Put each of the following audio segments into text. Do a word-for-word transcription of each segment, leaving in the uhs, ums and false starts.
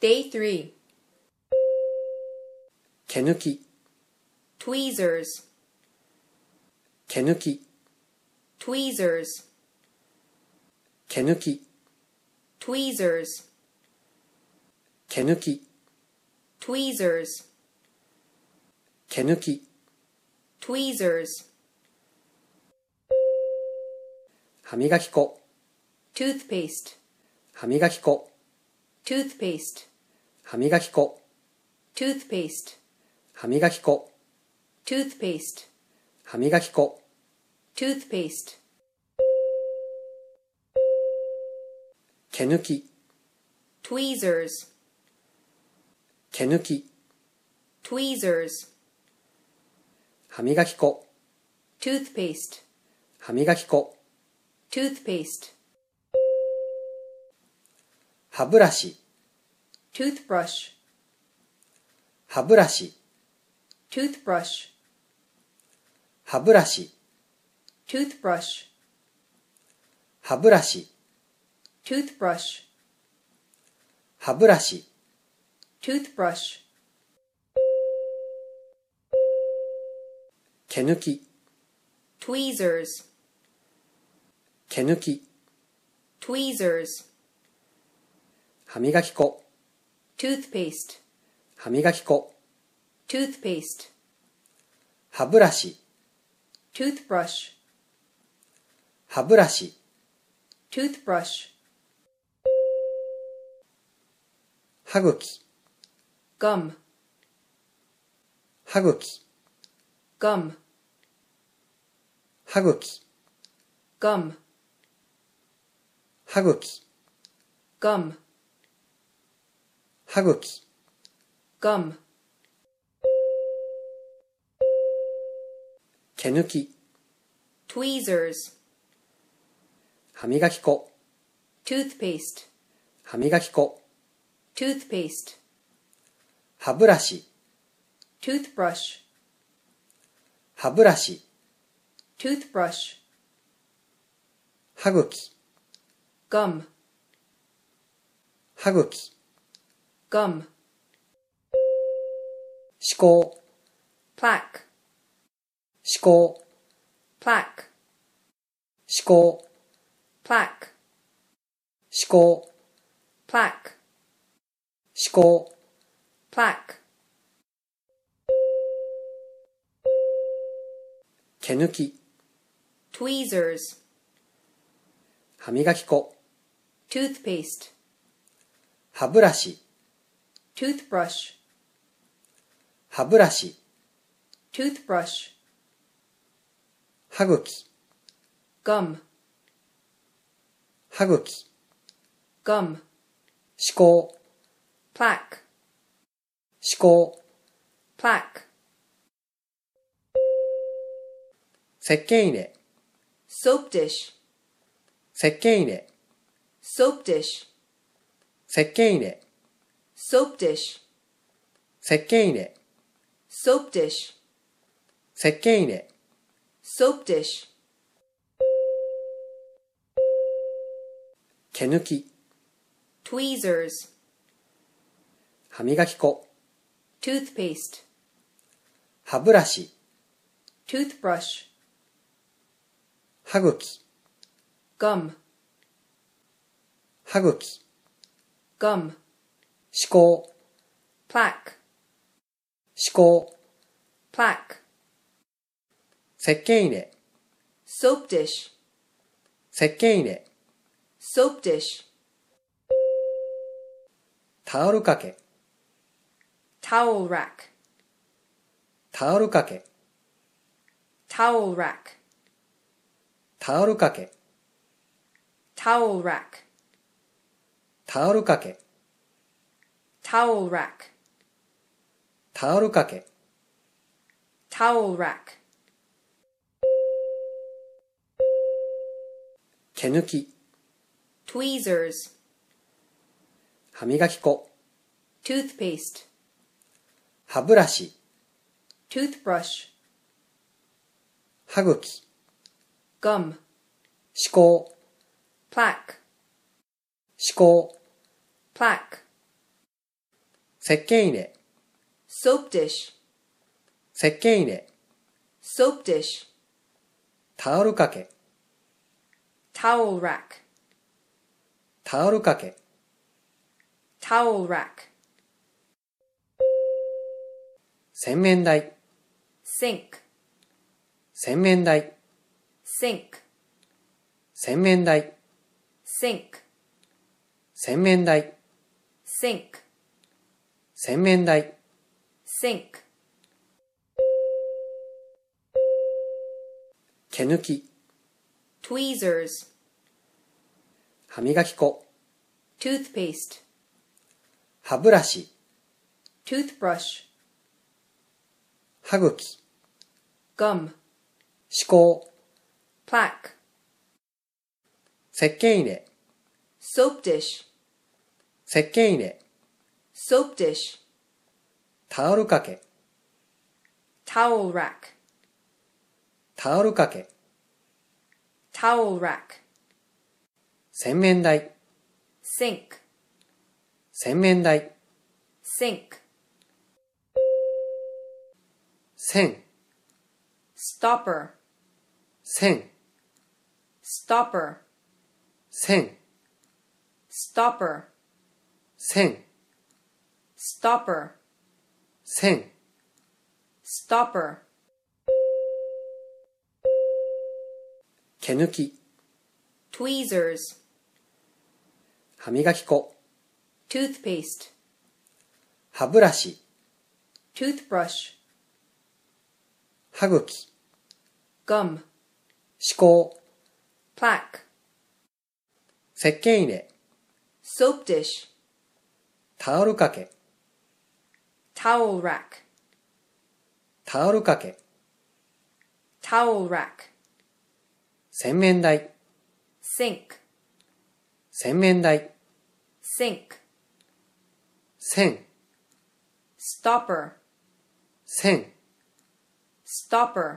Day three. 毛抜き Tweezers. 毛抜き Tweezers. 毛抜き Tweezers. 毛抜き Tweezers. 毛抜き Tweezers. 歯磨き粉 Toothpaste. 歯磨き粉 Toothpaste. 歯磨き粉 Toothpaste. 歯磨き粉 Toothpaste. 歯磨き粉 Toothpaste. 毛抜き Tweezers. 毛抜き Tweezers. 歯磨き粉 Toothpaste. 歯磨き粉 Toothpaste. 歯ブラシ Toothbrush. 歯ブラシ Toothbrush. 歯ブラシ Toothbrush. 歯ブラシ Toothbrush. 歯ブラシ Toothbrush. 毛抜き Tweezers. 毛抜き Tweezers. 歯磨き粉 Toothpaste. 歯磨き粉 Toothpaste. 歯ブラシ Toothbrush. 歯ブラシ Toothbrush. 歯茎 Gum. 歯茎 Gum. 歯茎 Gum. 歯茎 Gum. 歯茎 Gum. 毛抜き Tweezers. 歯磨き粉 Toothpaste. 歯磨き粉 Toothpaste. 歯ブラシ Toothbrush. 歯ブラシ Toothbrush. 歯茎 Gum. 歯茎 Gum. 歯垢 Plaque. 歯垢 Plaque. 歯垢 Plaque. 歯垢 Plaque. 歯垢 Plaque. 毛抜き Tweezers. 歯磨き粉 Toothpaste. 歯ブラシ Toothbrush. 歯ブラシ Toothbrush. 歯茎 Gum. 歯茎 Gum. 歯垢 Plaque. 歯垢 Plaque. 石鹸入れ Soap dish. 石鹸入れ Soap dish. 石鹸入れ Soap dish. 石鹸入れ Soap dish. 石鹸入れ Soap dish. 毛抜き Tweezers. 歯磨き粉 Toothpaste. 歯ブラシ Toothbrush. 歯茎 Gum. 歯茎 Gum. 歯垢 Plaque. 歯垢 Plaque. 石鹸入れ Soap dish. 石鹸入れ Soap dish. タオル掛け Towel rack. タオル掛け Towel rack. タオル掛け Towel rack. タオル掛け Towel rack. タオル掛け Towel rack. 毛抜き Tweezers. 歯磨き粉 Toothpaste. 歯ブラシ Toothbrush. 歯茎 Gum. 歯垢 Plaque. 歯垢 Plaque. 石鹸入れ、 soap dish, 石鹸入れ、 soap dish, タオル掛け、 towel rack, タオル掛け、 towel rack, 洗面台、 sink, 洗面台、 sink, 洗面台、 sink, 洗面台、 sink, 洗面台、 sink, 毛抜き、 tweezers, 歯磨き粉、 toothpaste, 歯ブラシ、 toothbrush, 歯茎、 gum, 歯垢、 plaque, 石鹸入れ、 soap dish, 石鹸入れ、 soap dish, タオル掛け、 towel rack, タオル掛け、 towel rack, 洗面台、 sink, 洗面台、 sink, 線、 stopper, 線、 stopper, 線、 stopper, 線、 stopper, 線、 stopper, 毛抜き、 tweezers, 歯磨き粉、 toothpaste, 歯ブラシ、 toothbrush, 歯茎、 gum, 歯垢、 plaque, 石鹸入れ、 soap dish, タオル掛け、 towel rack, タオル掛け、 towel rack, 洗面台、 sink, 洗面台、 sink, 線、 stopper, 線、 stopper,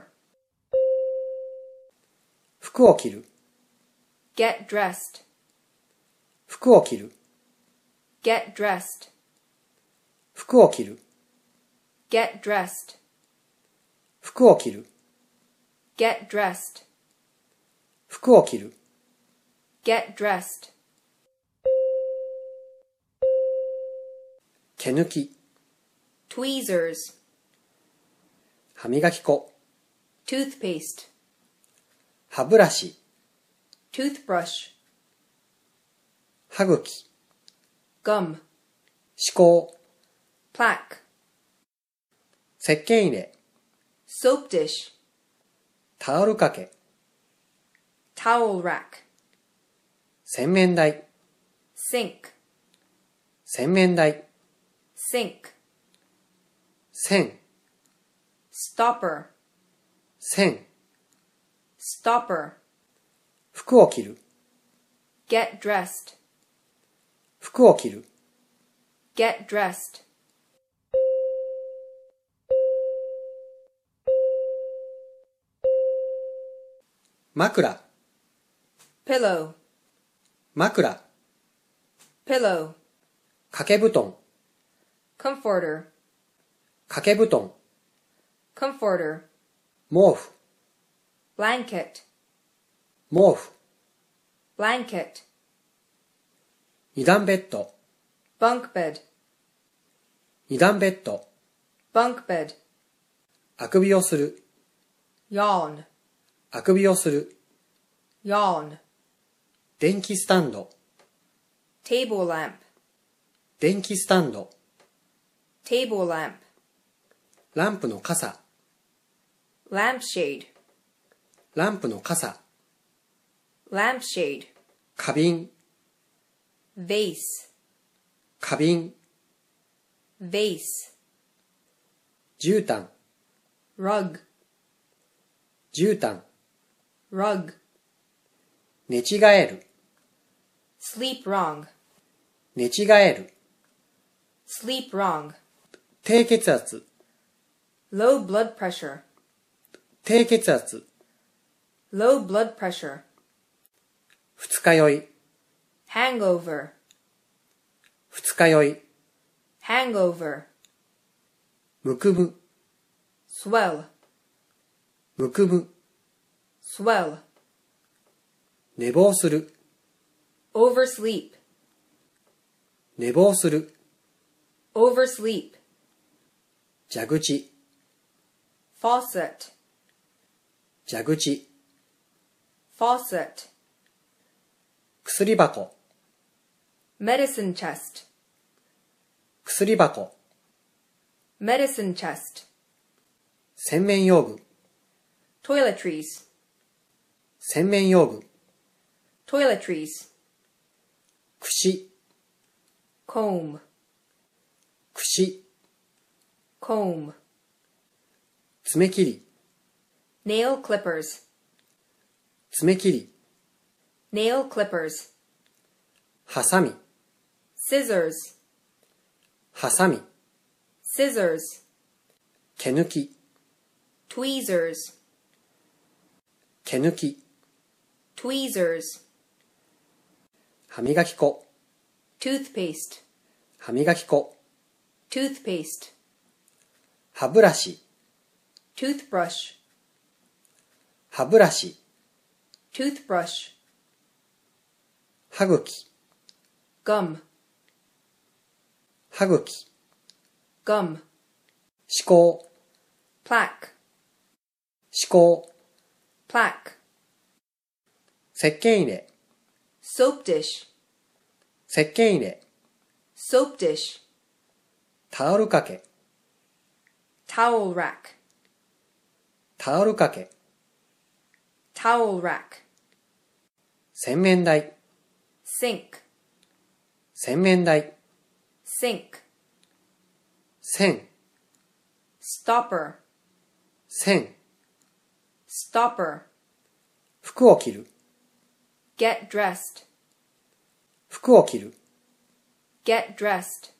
服を着る、 get dressed, 服を着る、 get dressed, 服を着る、 get dressed, 服を着る、 get dressed, 服を着る、 get dressed, 毛抜き、 tweezers, 歯磨き粉、 toothpaste, 歯ブラシ、 toothbrush, 歯茎、 gum, 歯垢、 plaque, 石鹸入れ、 soap dish, タオル掛け、 towel rack, 洗面台、 sink, 洗面台、 sink, 線、 stopper, 線、 stopper, 服を着る、 get dressed, 服を着る、 get dressed, 枕、 pillow, 枕、 pillow, 掛け布団、 comforter, 掛け布団、 comforter, 毛布、 blanket, 毛布、 blanket, 二段ベッド、 bunk bed, 二段ベッド、 bunk bed, あくびをする、 yawn, あくびをする、 yawn, 電気スタンド、 table lamp, 電気スタンド、 table lamp, ランプの傘、 lampshade, ランプの傘、 lampshade, 花瓶、 vase, 花瓶、 vase, 絨毯、 rug, 絨毯、 rug, 寝違える、 sleep wrong, 寝違える、 sleep wrong, 低血圧、 low blood pressure, 低血圧、 low blood pressure, 二日酔い、 hangover, 二日酔い、 hangover, むくむ、 swell, むくむ、 swell, 寝坊する、 oversleep, 寝坊する、 oversleep, 蛇口、 faucet, 蛇口、 faucet, 薬箱、 medicine chest, 薬箱、 medicine chest, 洗面用具、 toiletries, 洗面用具、 toiletries, 櫛、 comb, 櫛、 comb, 爪切り、 nail clippers, 爪切り、 nail clippers, ハサミ、 scissors, ハサミ、 scissors, 毛抜き、 tweezers, 毛抜き、 tweezers, 歯磨き粉、 toothpaste, 歯磨き粉、 toothpaste, 歯ブラシ、 toothbrush, 歯ブラシ、 toothbrush, 歯茎、 gum, 歯茎、 gum, 歯垢、 plaque, 歯垢、 plaque, 石鹸入れ、 soap dish, 石鹸入れ、 soap dish, タオルかけ、 towel rack, タオルかけ、 towel rack, 洗面台、 sink, 洗面台、 sink, 線、 stopper, 線、 stopper, 服を着る、 get dressed, 服を着る、 get dressed,